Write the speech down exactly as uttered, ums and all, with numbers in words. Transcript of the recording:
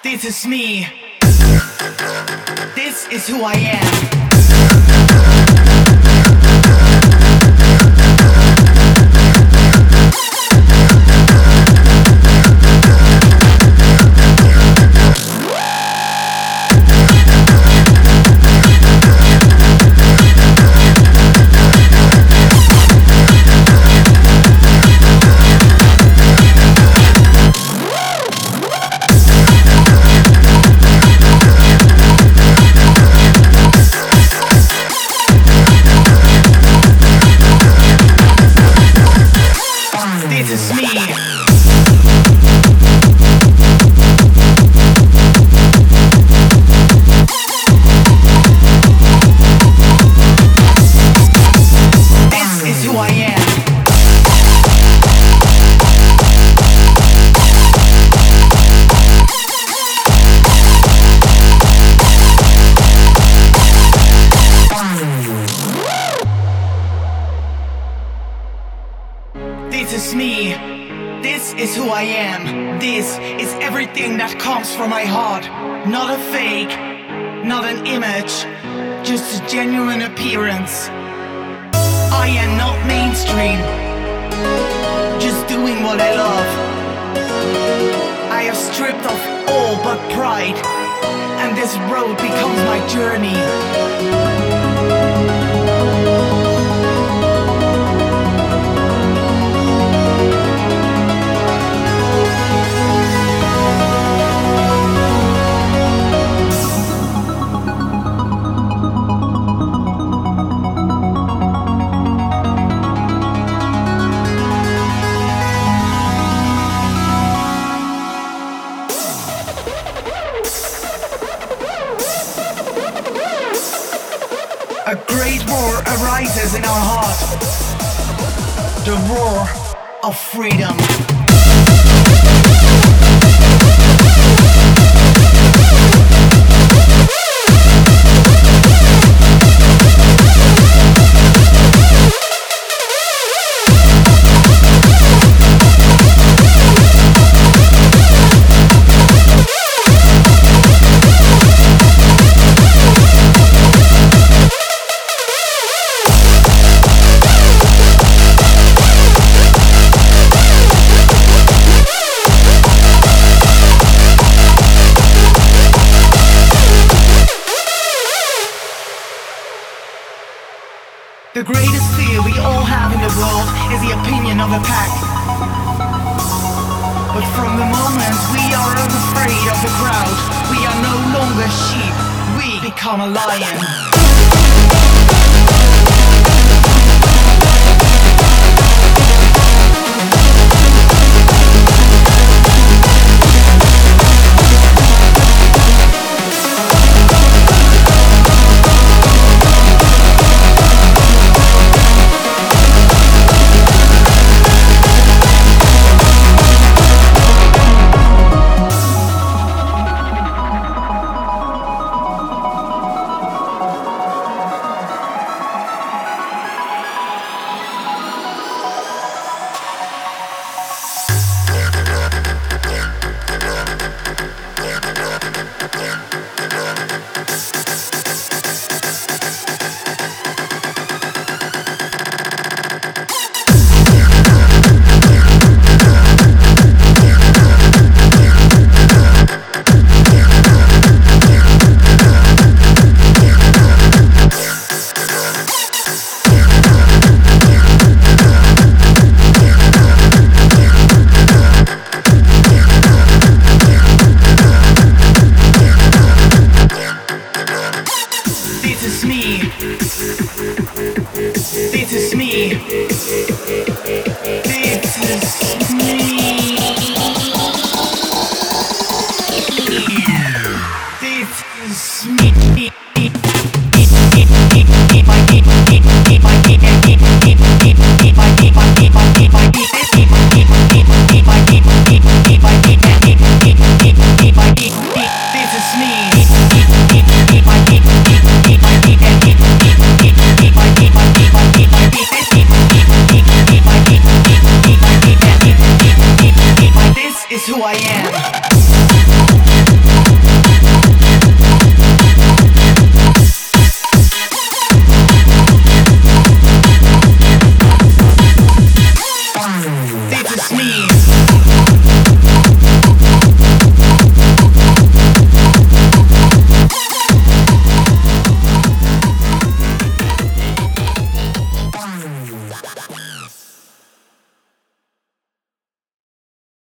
This is me. This is who I am. This is me. This is who I am. This is me. This is who I am. This is everything that comes from my heart. Not a fake, not an image, just a genuine appearance. I am not mainstream, just doing what I love. I have stripped off all but pride, and this road becomes my journey. A great roar arises in our heart. The roar of freedom. The greatest fear we all have in the world is the opinion of a pack. But from the moment we are unafraid of the crowd, we are no longer sheep, we become a lion.